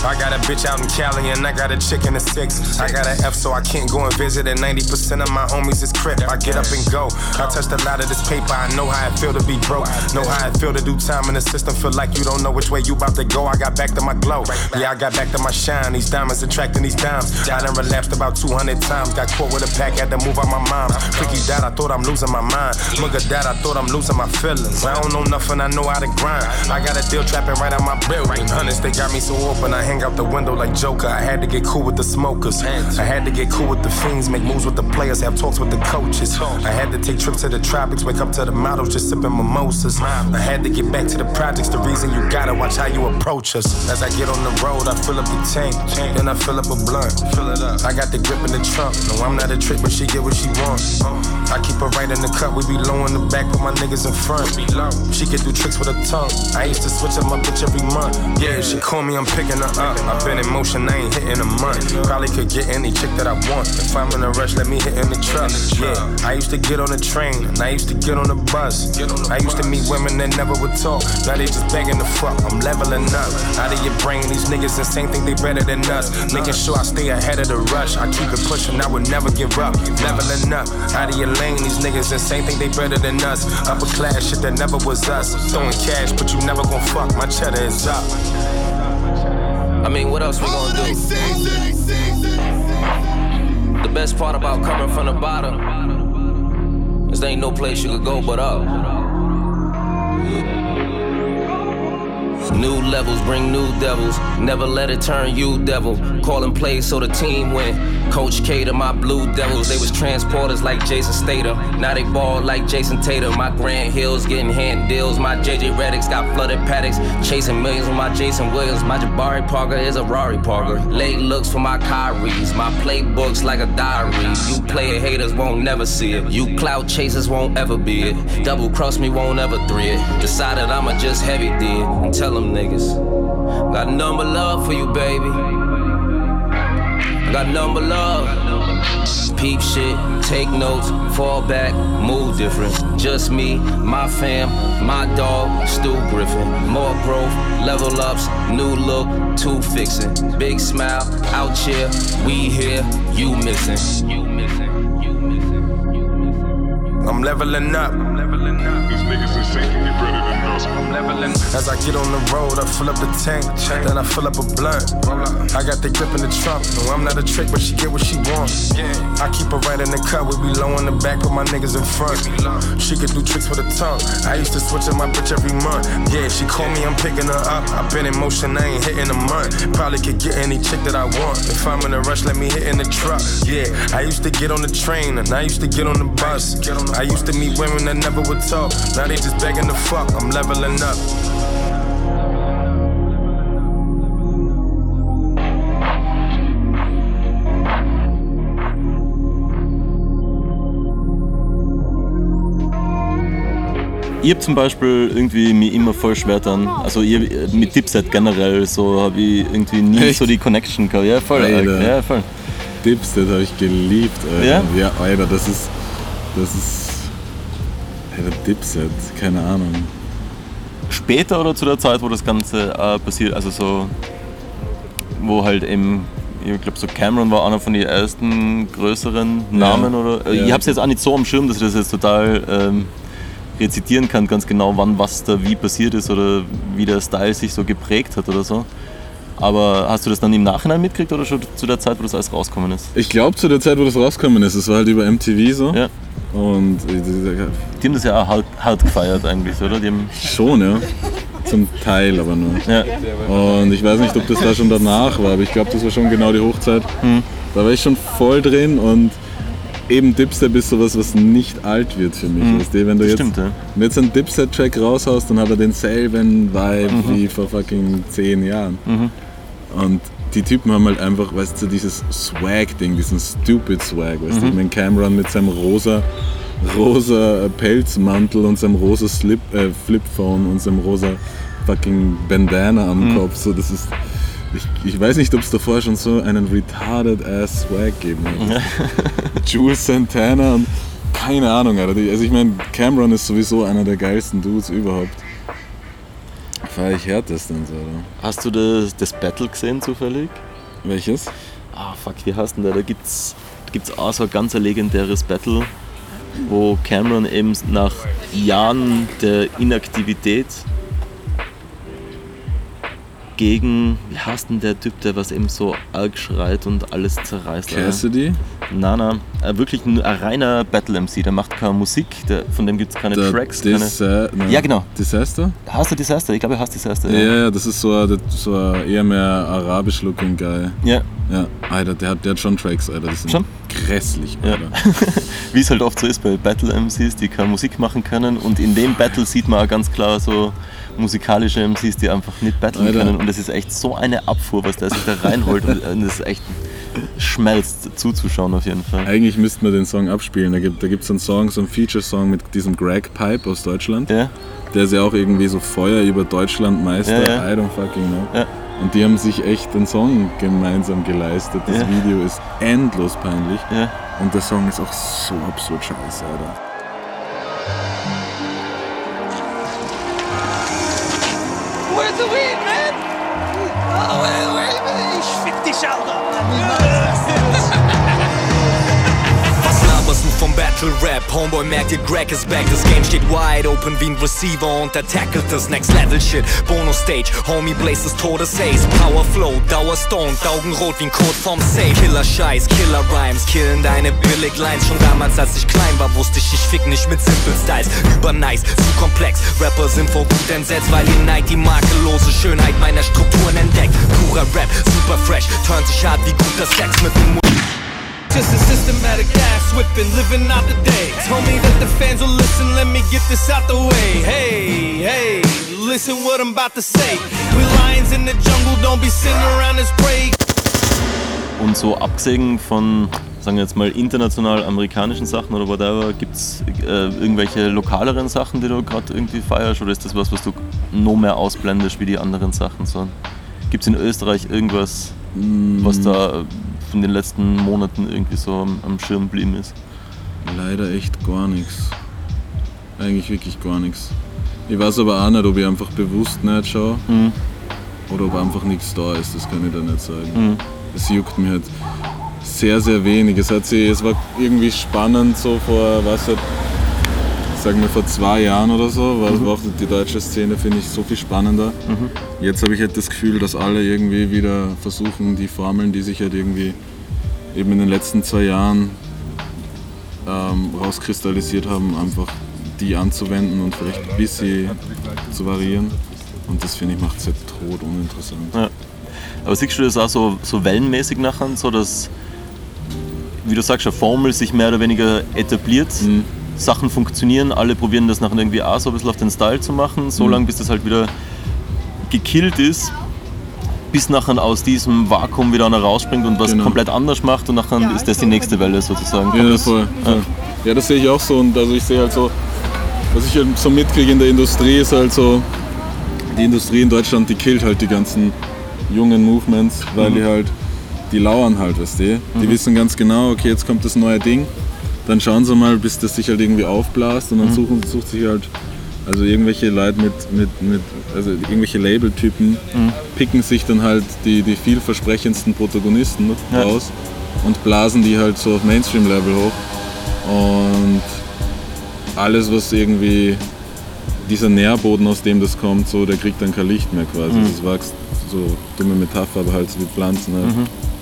I got a bitch out in Cali and I got a chick in the 6. I got an F so I can't go and visit, and 90% of my homies is crip. I get up and go. I touched a lot of this paper, I know how it feel to be broke. Know how it feel to do time in the system, feel like you don't know which way you about to go. I got back to my glow, yeah, I got back to my shine. These diamonds attracting these dimes. I done relapsed about 200 times. Got caught with a pack, had to move out my mom. Freaky died, I thought I'm losing my mind. Mugga died, I thought I'm losing my feelings. I don't know nothing, I know how to grind. I got a deal trapping right out my building. Hunters, they got me so open, I hang out the window like Joker. I had to get cool with the smokers. I had to get cool with the fiends, make moves with the players, have talks with the coaches. I had to take trips to the tropics, wake up to the models, just sipping mimosas. I had to get back to the projects, the reason you gotta watch how you approach us. As I get on the road, I fill up the tank, then I fill up a blunt. I got the grip in the trunk, no I'm not a trick, but she get what she want. I keep her right in the cut, we be low in the back, put my niggas in front. She can do tricks with her tongue, I used to switch up my bitch every month. Yeah, she call me, I'm picking her up. I've been in motion, I ain't hitting a month. Probably could get any chick that I want. If I'm in a rush, let me hit in the truck. Yeah, I used to get on the train, and I used to get on the bus. I used to meet women that never would talk, now they just begging to fuck. I'm leveling up, out of your brain, these niggas insane, think they better than us. Making sure I stay ahead of the rush, I keep it pushing, I would never give up. Leveling up, out of your lane, these niggas insane, think they better than us. Upper class shit that never was us. Throwing cash, but you never gon' fuck, my cheddar is up. I mean, what else we gonna do? The best part about coming from the bottom is there ain't no place you could go but up. New levels bring new devils. Never let it turn you devil. Calling plays so the team win. Coach K to my Blue Devils. They was transporters like Jason Statham. Now they ball like Jason Tatum. My Grant Hills getting hand deals. My JJ Redick's got flooded paddocks. Chasing millions with my Jason Williams. My Jabari Parker is a Rari Parker. Late looks for my Kyries. My playbooks like a diary. You player haters won't never see it. You clout chasers won't ever be it. Double cross me won't ever three it. Decided I'ma just heavy D it and tell them niggas, got nothing but love for you, baby. Got nothing but love. Peep shit, take notes, fall back, move different. Just me, my fam, my dog, Stu Griffin. More growth, level ups, new look, two fixin'. Big smile, out here, we here, you missing. I'm leveling up. These niggas insane, think they better than us. I'm leveling. As I get on the road, I fill up the tank, then I fill up a blunt. I got the grip in the trunk. No, I'm not a trick, but she get what she want. I keep her right in the cut, we be low in the back, put my niggas in front. She could do tricks with her tongue. I used to switch up my bitch every month. Yeah, she call me, I'm picking her up. I've been in motion, I ain't hitting a month. Probably could get any chick that I want. If I'm in a rush, let me hit in the truck. Yeah, I used to get on the train, and I used to get on the bus. I used to meet women that never would talk. Now they just begging to fuck, I'm leveling up. Ich habe zum Beispiel irgendwie mich immer voll schwer dann, also ich, mit Dipset generell, so habe ich irgendwie nie Echt? So die Connection gehabt. Ja, voll. Alter. Ja, voll. Dipset habe ich geliebt, Alter. Ja? Ja, Alter, das ist Alter, Dipset, keine Ahnung. Später oder zu der Zeit, wo das Ganze passiert, also so, wo halt eben, ich glaube so Cameron war einer von den ersten größeren Namen, oder? Ja. Ich habe es jetzt auch nicht so am Schirm, dass ich das jetzt total rezitieren kann, ganz genau, wann was da wie passiert ist oder wie der Style sich so geprägt hat oder so. Aber hast du das dann im Nachhinein mitgekriegt oder schon zu der Zeit, wo das alles rausgekommen ist? Ich glaube zu der Zeit, wo das rausgekommen ist, es war halt über MTV so. Ja. Und die haben das ja auch hart gefeiert eigentlich, oder? Die haben schon, ja. Zum Teil aber nur. Ja. Und ich weiß nicht, ob das da schon danach war, aber ich glaube, das war schon genau die Hochzeit. Da war ich schon voll drin und eben Dipset ist sowas, was nicht alt wird für mich. Weißt du, wenn du Stimmt, ja. jetzt einen Dipset-Track raushaust, dann hat er denselben Vibe wie vor fucking 10 Jahren. Und die Typen haben halt einfach, weißt du, dieses Swag-Ding, diesen Stupid Swag, weißt du, ich mein Cameron mit seinem rosa Pelzmantel und seinem rosa Flipphone und seinem rosa fucking Bandana am Kopf, so, das ist, ich weiß nicht, ob es davor schon so einen retarded ass Swag gegeben hat. Jules Santana und keine Ahnung, Alter. Also ich meine, Cameron ist sowieso einer der geilsten Dudes überhaupt. feiere ich härtestens, oder? Hast du das Battle gesehen zufällig? Welches? Ah, fuck, wie heißt denn der? Da gibt's auch so ein ganz legendäres Battle, wo Cameron eben nach Jahren der Inaktivität gegen, wie heißt denn der Typ, der was eben so arg schreit und alles zerreißt? Cassidy? Nein, wirklich ein reiner Battle-MC, der macht keine Musik, von dem gibt es keine Tracks. Ja, genau. Disaster? Hast du Disaster? Ich glaube, er heißt Disaster. Ja, das ist so ein eher mehr arabisch-looking Guy. Ja. Ja, Alter, der hat schon Tracks, Alter. Das sind schon? Grässlich, Alter. Ja. Wie es halt oft so ist bei Battle-MCs, die keine Musik machen können. Und in dem Battle sieht man auch ganz klar so musikalische MCs, die einfach nicht battlen können. Und das ist echt so eine Abfuhr, was der sich da reinholt. Und das ist echt schmelzt zuzuschauen auf jeden Fall. Eigentlich müssten wir den Song abspielen. Da gibt's einen Song, so einen Feature-Song mit diesem Greg Pipe aus Deutschland. Ja. Der ist ja auch irgendwie so Feuer über Deutschland Meister. Ja. I don't fucking know. Ja. Und die haben sich echt einen Song gemeinsam geleistet. Das Video ist endlos peinlich. Ja. Und der Song ist auch so absurd scheiße, Alter. Where's the weed, man? Oh, wait a minute. Ich fick dich, Alter. Was laberst du vom Battle Rap? Homeboy merkt ihr, Greg ist back. Das Game steht wide open wie ein Receiver und er tackelt das Next Level Shit. Bonus Stage, Homie Blaze des Todes Ace. Power Flow, Dauerstoned, Augenrot wie ein Code vom Safe. Killer Scheiß, Killer Rhymes, killen deine Billig Lines. Schon damals, als ich klein war, wusste ich fick nicht mit Simple Styles. Übernice, zu komplex. Rapper sind vor gut entsetzt, weil ihr Neid die makellose Schönheit meiner Strukturen entdeckt. Purer Rap, super fresh, turnt sich hart wie guter Sex mit dem Just a systematic ass whipping, living out the day. Told me that the fans will listen, let me get this out the way. Hey, listen what I'm about to say. We lions in the jungle, don't be sitting around as prey. Und so abgesehen von, sagen wir jetzt mal, international amerikanischen Sachen oder whatever, gibt es irgendwelche lokaleren Sachen, die du gerade irgendwie feierst, oder ist das was du noch mehr ausblendest wie die anderen Sachen? So, gibt es in Österreich irgendwas, was da in den letzten Monaten irgendwie so am Schirm geblieben ist? Leider echt gar nichts. Eigentlich wirklich gar nichts. Ich weiß aber auch nicht, ob ich einfach bewusst nicht schaue oder ob einfach nichts da ist, das kann ich da nicht sagen. Es juckt mich halt sehr, sehr wenig. Es war irgendwie spannend so vor, sagen wir vor 2 Jahren oder so, war auch die deutsche Szene, finde ich, so viel spannender. Jetzt habe ich halt das Gefühl, dass alle irgendwie wieder versuchen, die Formeln, die sich halt irgendwie eben in den letzten 2 Jahren rauskristallisiert haben, einfach die anzuwenden und vielleicht ein bisschen zu variieren. Und das, finde ich, macht es halt tot uninteressant. Ja. Aber siehst du das auch so wellenmäßig nachher, so dass, wie du sagst, eine Formel sich mehr oder weniger etabliert, Sachen funktionieren, alle probieren das nachher irgendwie auch so ein bisschen auf den Style zu machen, so lange bis das halt wieder gekillt ist, bis nachher aus diesem Vakuum wieder einer rausspringt und was komplett anders macht und nachher ist das die nächste Welle sozusagen. Ja, voll. Ja, das sehe ich auch so, und also ich sehe halt so, was ich halt so mitkriege in der Industrie ist halt so, die Industrie in Deutschland, die killt halt die ganzen jungen Movements, weil die lauern halt, weißt du. Die wissen ganz genau, okay, jetzt kommt das neue Ding, dann schauen sie mal, bis das sich halt irgendwie aufblasst und dann sucht sich halt, also irgendwelche Leute also irgendwelche Labeltypen picken sich dann halt die vielversprechendsten Protagonisten raus und blasen die halt so auf Mainstream-Level hoch, und alles, was irgendwie dieser Nährboden, aus dem das kommt, so, der kriegt dann kein Licht mehr quasi. Das wächst, so dumme Metapher, aber halt so wie Pflanzen halt.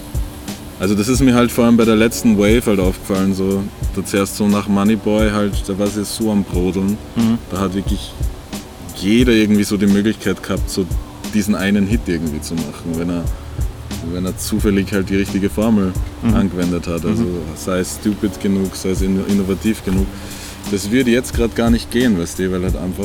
Also das ist mir halt vor allem bei der letzten Wave halt aufgefallen, so, da zuerst so nach Moneyboy halt, da war es jetzt so am Brodeln, da hat wirklich jeder irgendwie so die Möglichkeit gehabt, so diesen einen Hit irgendwie zu machen, wenn er zufällig halt die richtige Formel angewendet hat, also sei es stupid genug, sei es innovativ genug. Das würde jetzt gerade gar nicht gehen, weißt du, weil halt einfach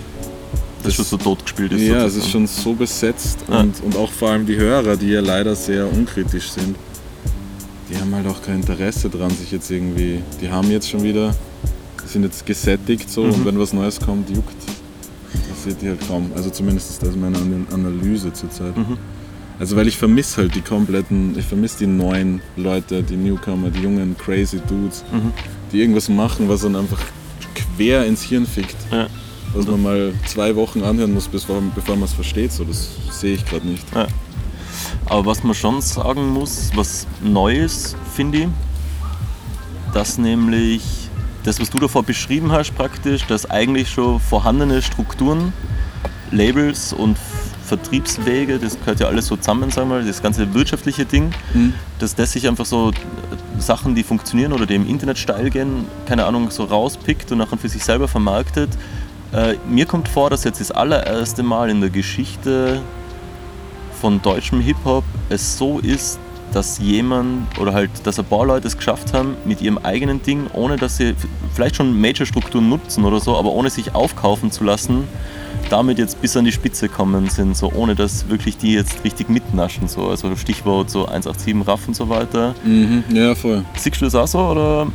das schon so tot gespielt ist. Ja, es ist schon so besetzt und auch vor allem die Hörer, die ja leider sehr unkritisch sind, die haben halt auch kein Interesse dran, sich jetzt irgendwie, die haben jetzt schon wieder, die sind jetzt gesättigt so, und wenn was Neues kommt, juckt, interessiert die halt kaum. Also zumindest ist das meine Analyse zurzeit. Also weil ich vermisse halt ich vermisse die neuen Leute, die Newcomer, die jungen crazy Dudes, die irgendwas machen, was dann einfach quer ins Hirn fickt. was man mal 2 Wochen anhören muss, bevor man es versteht. So, das sehe ich gerade nicht. Ja. Aber was man schon sagen muss, was Neues, finde ich, dass nämlich das, was du davor beschrieben hast praktisch, dass eigentlich schon vorhandene Strukturen, Labels und Vertriebswege, das gehört ja alles so zusammen, sagen wir mal, das ganze wirtschaftliche Ding, dass das sich einfach so Sachen, die funktionieren oder die im Internet steil gehen, keine Ahnung, so rauspickt und nachher für sich selber vermarktet. Mir kommt vor, dass jetzt das allererste Mal in der Geschichte von deutschem Hip-Hop es so ist, dass jemand oder halt, dass ein paar Leute es geschafft haben mit ihrem eigenen Ding, ohne dass sie vielleicht schon Major-Strukturen nutzen oder so, aber ohne sich aufkaufen zu lassen, damit jetzt bis an die Spitze kommen sind, so ohne dass wirklich die jetzt richtig mitnaschen, so, also Stichwort so 187 Raff und so weiter. Ja, voll. Siehst du das auch so, oder?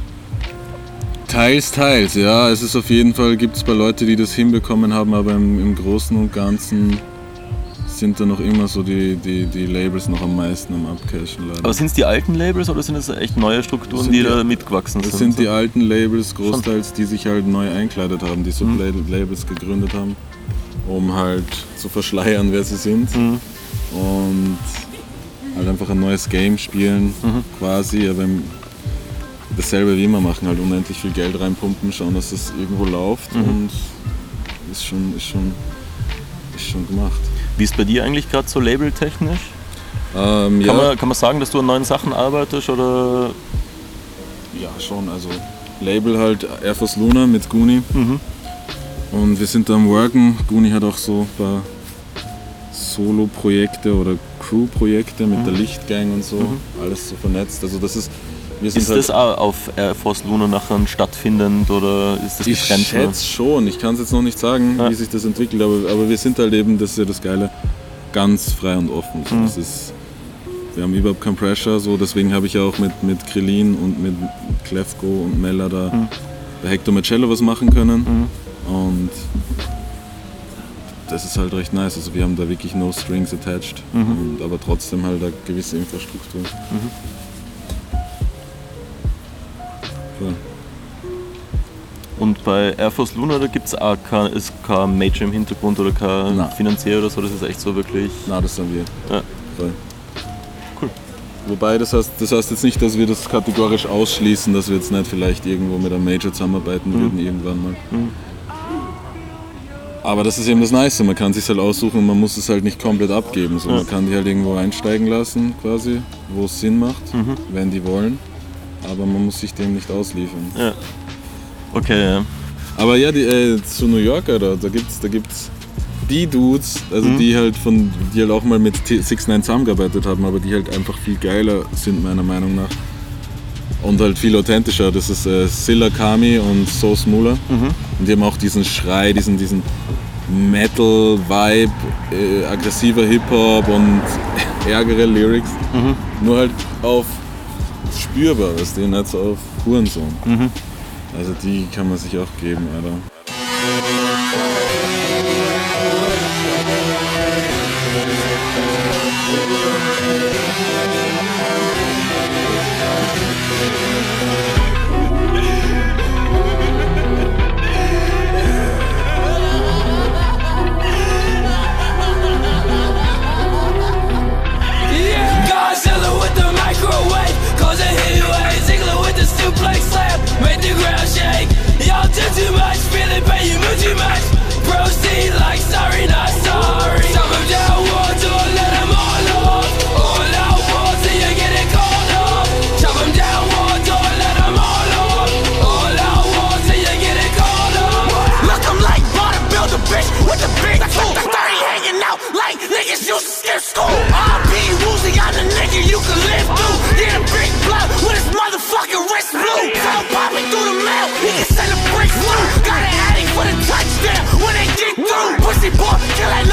Teils, ja. Es ist auf jeden Fall, gibt es bei Leuten, die das hinbekommen haben, aber im Großen und Ganzen sind da noch immer so die Labels noch am meisten am Abcashen leider. Aber sind es die alten Labels oder sind es echt neue Strukturen, die da mitgewachsen sind? Das sind die alten Labels großteils, die sich halt neu einkleidet haben, die Sublabels gegründet haben, um halt zu verschleiern, wer sie sind und halt einfach ein neues Game spielen quasi, aber dasselbe wie immer machen, halt unendlich viel Geld reinpumpen, schauen, dass es irgendwo läuft und ist schon gemacht. Wie ist bei dir eigentlich gerade so labeltechnisch? Kann man sagen, dass du an neuen Sachen arbeitest oder? Ja, schon. Also Label halt Air Force Luna mit Guni. Und wir sind da am Worken. Guni hat auch so ein paar Solo-Projekte oder Crew-Projekte mit der Lichtgang und so. Alles so vernetzt. Also das ist. Ist das auch auf Air Force Luna nachher stattfindend oder ist das getrennt? Ich schätze schon, ich kann es jetzt noch nicht sagen, wie sich das entwickelt, aber wir sind halt eben, das ist ja das Geile, ganz frei und offen. So, wir haben überhaupt keinen Pressure, so, deswegen habe ich ja auch mit Krillin und mit Klefko und Mella da bei Hector Marcello was machen können und das ist halt recht nice, also wir haben da wirklich no strings attached, aber trotzdem halt eine gewisse Infrastruktur. Und bei Air Force Luna, da gibt es auch kein Major im Hintergrund oder kein Finanzier oder so, das ist echt so wirklich... Nein, das sind wir. Ja. Voll. Cool. Wobei, das heißt jetzt nicht, dass wir das kategorisch ausschließen, dass wir jetzt nicht vielleicht irgendwo mit einem Major zusammenarbeiten würden irgendwann mal. Aber das ist eben das Nice, man kann es sich halt aussuchen und man muss es halt nicht komplett abgeben. So, man kann die halt irgendwo einsteigen lassen, quasi, wo es Sinn macht, wenn die wollen. Aber man muss sich dem nicht ausliefern. Ja. Okay, ja. Aber ja, zu New York, Alter, da gibt's die Dudes, also die halt auch mal mit 6ix9ine zusammengearbeitet haben, aber die halt einfach viel geiler sind, meiner Meinung nach. Und halt viel authentischer. Das ist Silla Kami und Sauce Mula. Und die haben auch diesen Schrei, diesen Metal-Vibe, aggressiver Hip-Hop und ärgere Lyrics. Nur halt auf spürbar, was denen halt so auf Hurensohn. Also die kann man sich auch geben, Alter. Too much, feeling pain, you move too much. Proceed like sorry, not sorry. Shove them down, war door, let them all off. All out war till you get it called off. Shove them down, war door, let them all off. All out war till you get it called off. Look, I'm like bodybuilder, bitch, with the big tool. 30 hanging out like niggas used to skip school. R.B. Woozy, I'm the nigga you can live through. Get a big blood with his motherfucking wrist blue. Tell popping through the mail, he can send a brick through. Got an addict for the touchdown when they get through. Pussy boy, kill that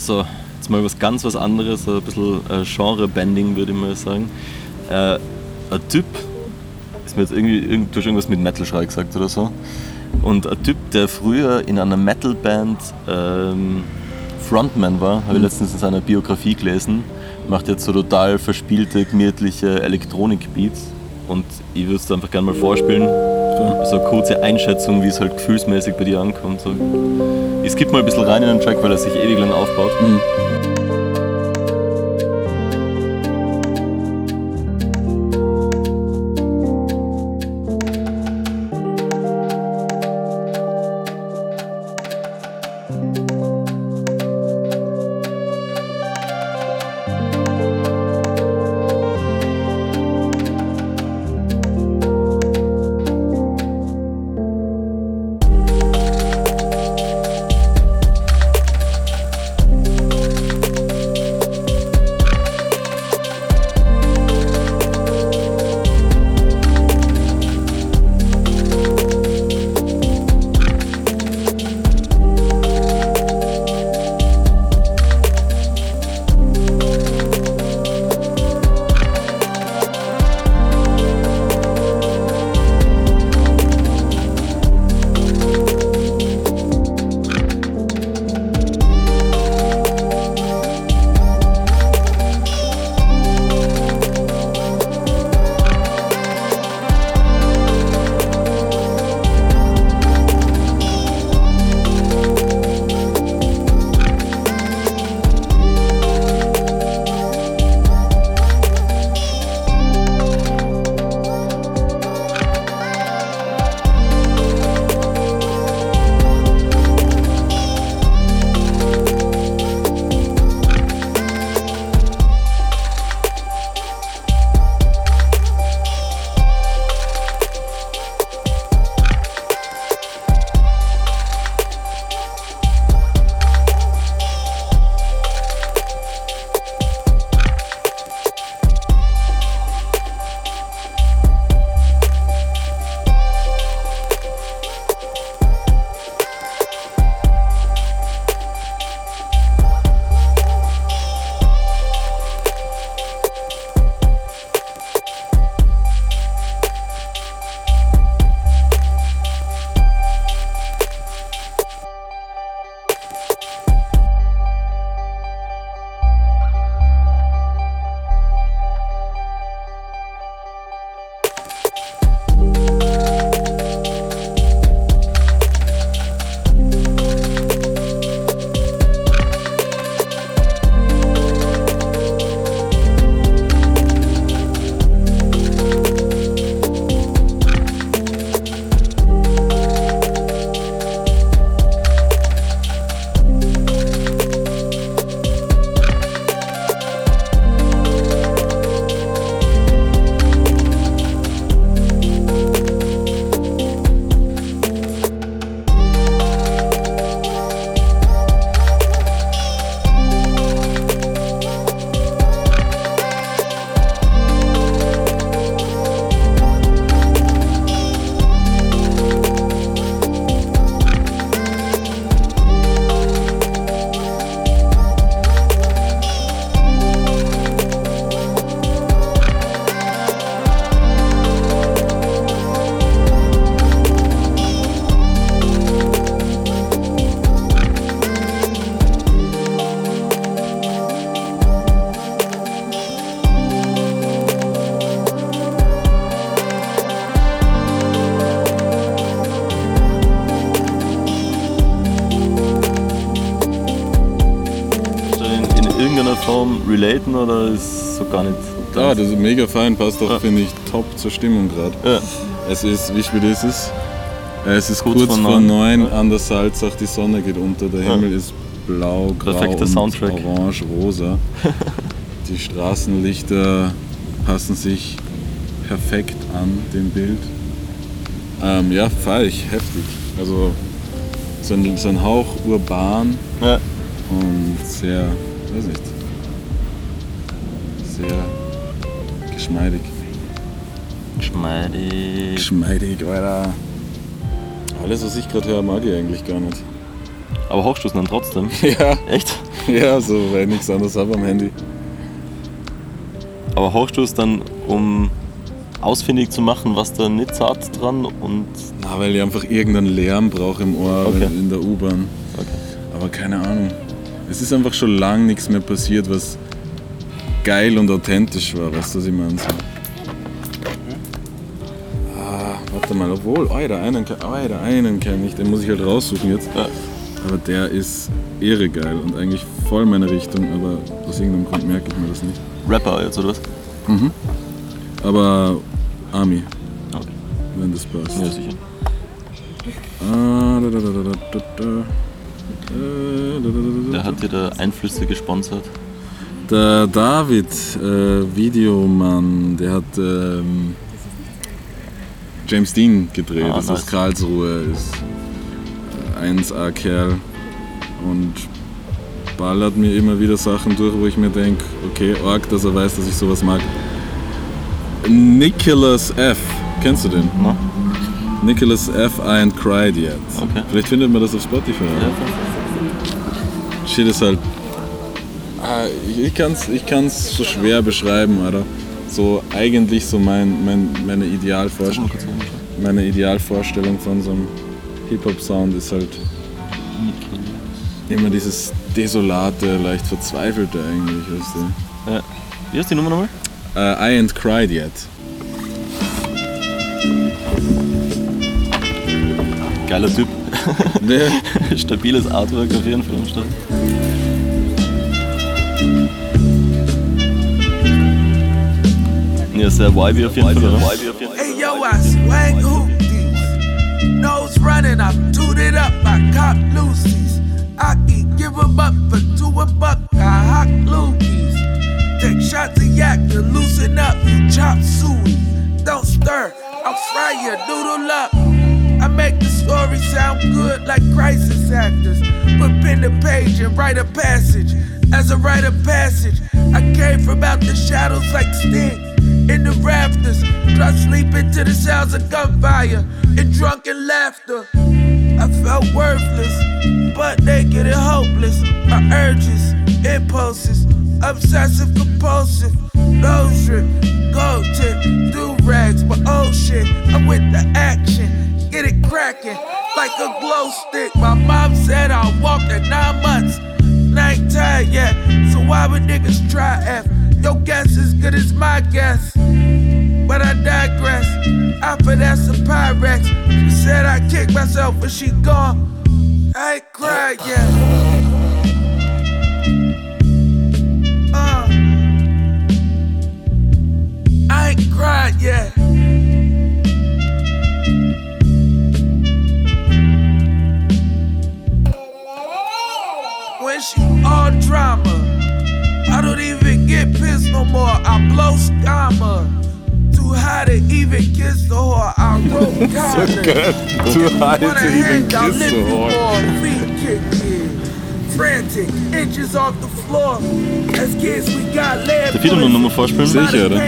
so, jetzt mal was anderes, so ein bisschen Genre-Bending, würde ich mal sagen. Ein Typ, ist mir jetzt irgendwie, du hast irgendwas mit Metal-Schrei gesagt oder so. Und ein Typ, der früher in einer Metal-Band Frontman war, habe ich letztens in seiner Biografie gelesen, macht jetzt so total verspielte, gemütliche Elektronik-Beats. Und ich würde es einfach gerne mal vorspielen. So eine kurze Einschätzung, wie es halt gefühlsmäßig bei dir ankommt. So. Ich skippe mal ein bisschen rein in den Track, weil er sich ewig lang aufbaut. Form relaten oder ist so gar nicht? Ja, das ist mega fein, passt doch, finde ich, top zur Stimmung gerade. Ja. Es ist, wie spät ist es? Es ist kurz vor 9 an der Salzach, die Sonne geht unter, der Himmel ist blau, grau und orange, rosa. Die Straßenlichter passen sich perfekt an dem Bild. Ja, feier ich, heftig. Also so ein Hauch urban und sehr, weiß nicht, sehr geschmeidig. Geschmeidig, Alter. Alles, was ich gerade höre, mag ich eigentlich gar nicht. Aber hochstoßen dann trotzdem? Ja. Echt? Ja, so, weil ich nichts anderes habe am Handy. Aber hauchst du es dann, um ausfindig zu machen, was da nicht zart dran und... Na, weil ich einfach irgendeinen Lärm brauche im Ohr in der U-Bahn. Okay. Aber keine Ahnung. Es ist einfach schon lange nichts mehr passiert, was geil und authentisch war, weißt du, was ich meine? So. Warte mal, obwohl, einen kenne ich, den muss ich halt raussuchen jetzt. Ja. Aber der ist irre geil und eigentlich voll meine Richtung, aber aus irgendeinem Grund merke ich mir das nicht. Rapper jetzt, oder was? Mhm. Aber Army. Okay. Wenn das passt. Ja, sicher. Der hat dir da Einflüsse gesponsert? Der David, Videomann, der hat James Dean gedreht, das ist aus Karlsruhe, ist 1A-Kerl und ballert mir immer wieder Sachen durch, wo ich mir denke, okay, arg, dass er weiß, dass ich sowas mag. Nicholas F., kennst du den? No. Nicholas F. I Ain't Cried Yet. Okay. Vielleicht findet man das auf Spotify. Ja. Shit ist halt... Ich kann's so schwer beschreiben, oder? So eigentlich so meine Idealvorstellung von so einem Hip-Hop-Sound ist halt immer dieses desolate, leicht verzweifelte eigentlich, weißt du? Ja. Wie heißt die Nummer nochmal? I Ain't Cried Yet. Geiler Typ. Nee. Stabiles Artwork auf jeden Fall am Start. Ja, sehr vibey auf jeden Fall, oder? Hey yo, I swag hoopties. Nose running, I toot it up, I cop loosies. I can give 'em up for $2 I hawk loogies. Take shots of yak to loosen up, you chop suey. Don't stir, I'll fry your noodle up. I make the story sound good like crisis actors. Put pen to page and write a passage. As a rite of passage, I came from out the shadows like Sting. In the rafters, try sleeping to the sounds of gunfire and drunken laughter. I felt worthless, but naked and hopeless. My urges, impulses, obsessive compulsive. No strip, gold tip, do-rags, but oh shit, I'm with the action. Get it cracking like a glow stick. My mom said I walked at 9 months. And I ain't tired yet, so why would niggas try F? Your guess is good as my guess. But I digress. I finesse a Pyrex. She said I kicked myself, but she gone. I ain't cried yet. I ain't cried yet. When she all drama, I don't even get pissed no more. I blow scammer. Too high to even kiss the whore. I wrote so good. Too high to even kiss the whore. Feet kicking, frantic, inches off the floor. As kids we got lead. Darf ich dir noch eine Nummer vorspielen? Sicher, oder?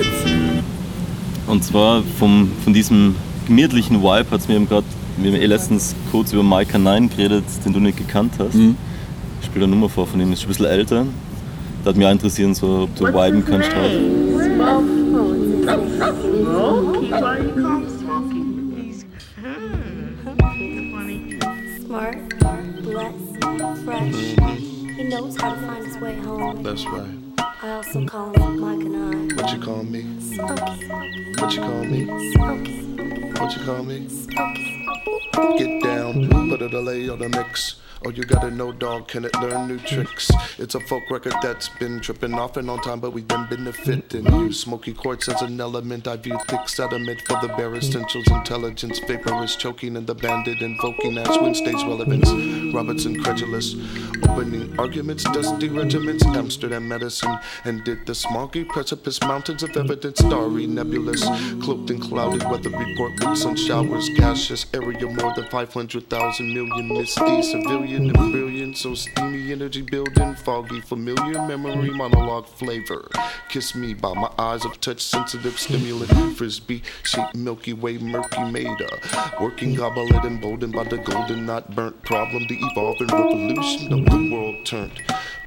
Und zwar von diesem gemütlichen Vibe hat es mir eben gerade, wir haben letztens kurz über Micah 9 geredet, den du nicht gekannt hast. Mhm. Ich spiele eine Nummer vor von ihm, ist schon ein bisschen älter. Da hat mich auch interessieren, so, ob du viben kannst. Smart, blessed, fresh. He knows how to find his way home. That's right. I also call him Micah 9. What you call me? Smokey. What you call me? Smokey. What you call me? Smokey. Get down, put a delay on the mix. Oh, you gotta know, dog, can it learn new tricks? It's a folk record that's been tripping off and on time, but we've been benefiting. Use smoky quartz as an element. I view thick sediment for the bare essentials. Intelligence, vaporous, choking, and the bandit invoking as Wednesday's relevance. Robertson credulous, opening arguments, dusty regiments, Amsterdam medicine, and did the smoggy precipice mountains of evidence, starry, nebulous, cloaked in cloudy weather report with sun showers, gaseous area more than 500,000 million misty civilian. And brilliant, so steamy energy building, foggy, familiar memory, monologue flavor. Kiss me by my eyes of touch, sensitive stimulant, frisbee, shape, Milky Way, murky maida. Working goblet emboldened by the golden, not burnt problem, the evolving revolution of the world turned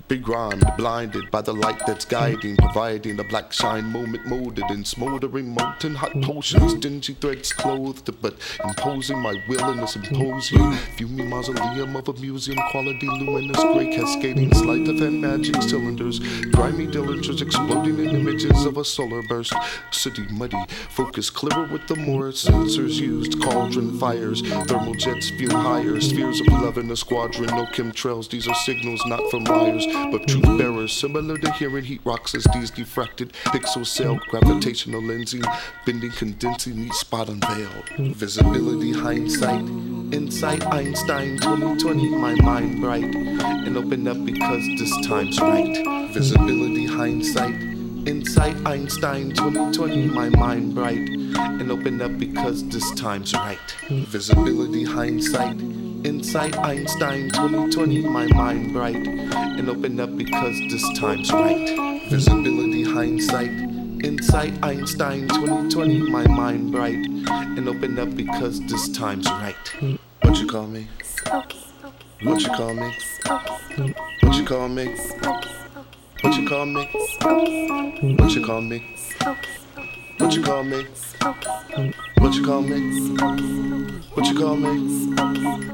begrimed, blinded by the light that's guiding, providing a black shine moment molded in smoldering molten hot potions, dingy threads clothed, but imposing my will in a symposium. View me mausoleum of a museum, quality luminous gray cascading sleight of hand magic cylinders, grimy dilligers exploding in images of a solar burst. City muddy, focus clearer with the more sensors used, cauldron fires, thermal jets fume higher, spheres of love in a squadron, no chemtrails, these are signals not from liars, but truth bearers, similar to hearing heat rocks as these diffracted pixel cell, gravitational lensing, bending, condensing, each spot unveiled. Visibility, hindsight, insight, Einstein, 2020, my mind bright, and open up because this time's right. Visibility, hindsight, insight, Einstein, 2020, my mind bright, and open up because this time's right. Visibility, hindsight, insight, Einstein, 2020, my mind bright, and open up because this time's right. Visibility, hindsight, insight, Einstein, 2020, my mind bright, and open up because this time's right. What you call me? What you call me? What you call me? What you call me? What you call me? What you call me? What you call me? What you call me?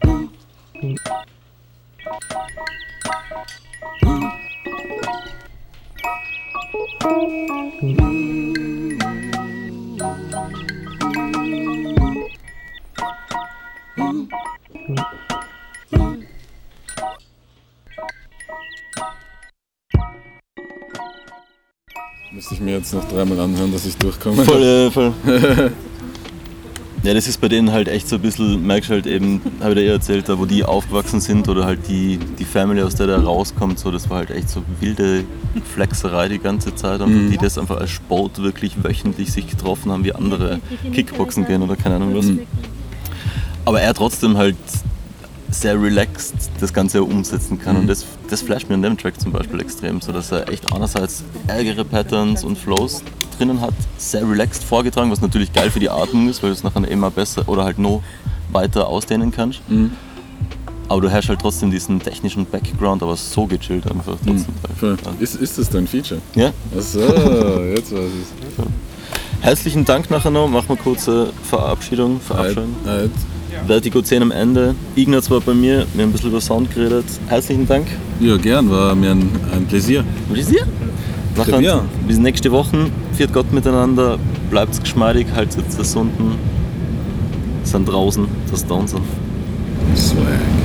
Müsste ich mir jetzt noch dreimal anhören, dass ich durchkomme. Voll. Ja, das ist bei denen halt echt so ein bisschen, merkst du halt eben, habe ich dir erzählt, da wo die aufgewachsen sind oder halt die Family, aus der rauskommt, so, das war halt echt so wilde Flexerei die ganze Zeit, und die das einfach als Sport wirklich wöchentlich sich getroffen haben, wie andere Kickboxen gehen oder keine Ahnung was. Aber er trotzdem halt sehr relaxed das Ganze umsetzen kann, und das flasht mir an dem Track zum Beispiel extrem, so dass er echt einerseits ärgere Patterns und Flows drinnen hat, sehr relaxed vorgetragen, was natürlich geil für die Atmung ist, weil du es nachher immer besser oder halt noch weiter ausdehnen kannst. Aber du hast halt trotzdem diesen technischen Background, aber so gechillt einfach trotzdem. Ja. Ist das dein Feature? Ja. Achso, jetzt weiß ich's. Herzlichen Dank nachher noch, machen wir kurze Verabschiedung. Vertigo 10 am Ende. Ignaz war bei mir, wir haben ein bisschen über Sound geredet. Herzlichen Dank. Ja, gern, war mir ein Pläsier. Nachher, bis nächste Woche. Viert Gott miteinander, bleibt's geschmeidig, haltet das unten. Sind draußen, das da sind. Swag.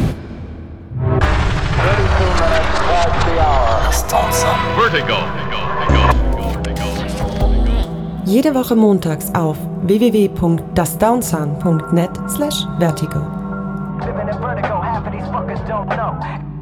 Vertigo. Jede Woche montags auf www.dasdownsun.net/vertigo. Living in vertigo, half of these fuckers don't know.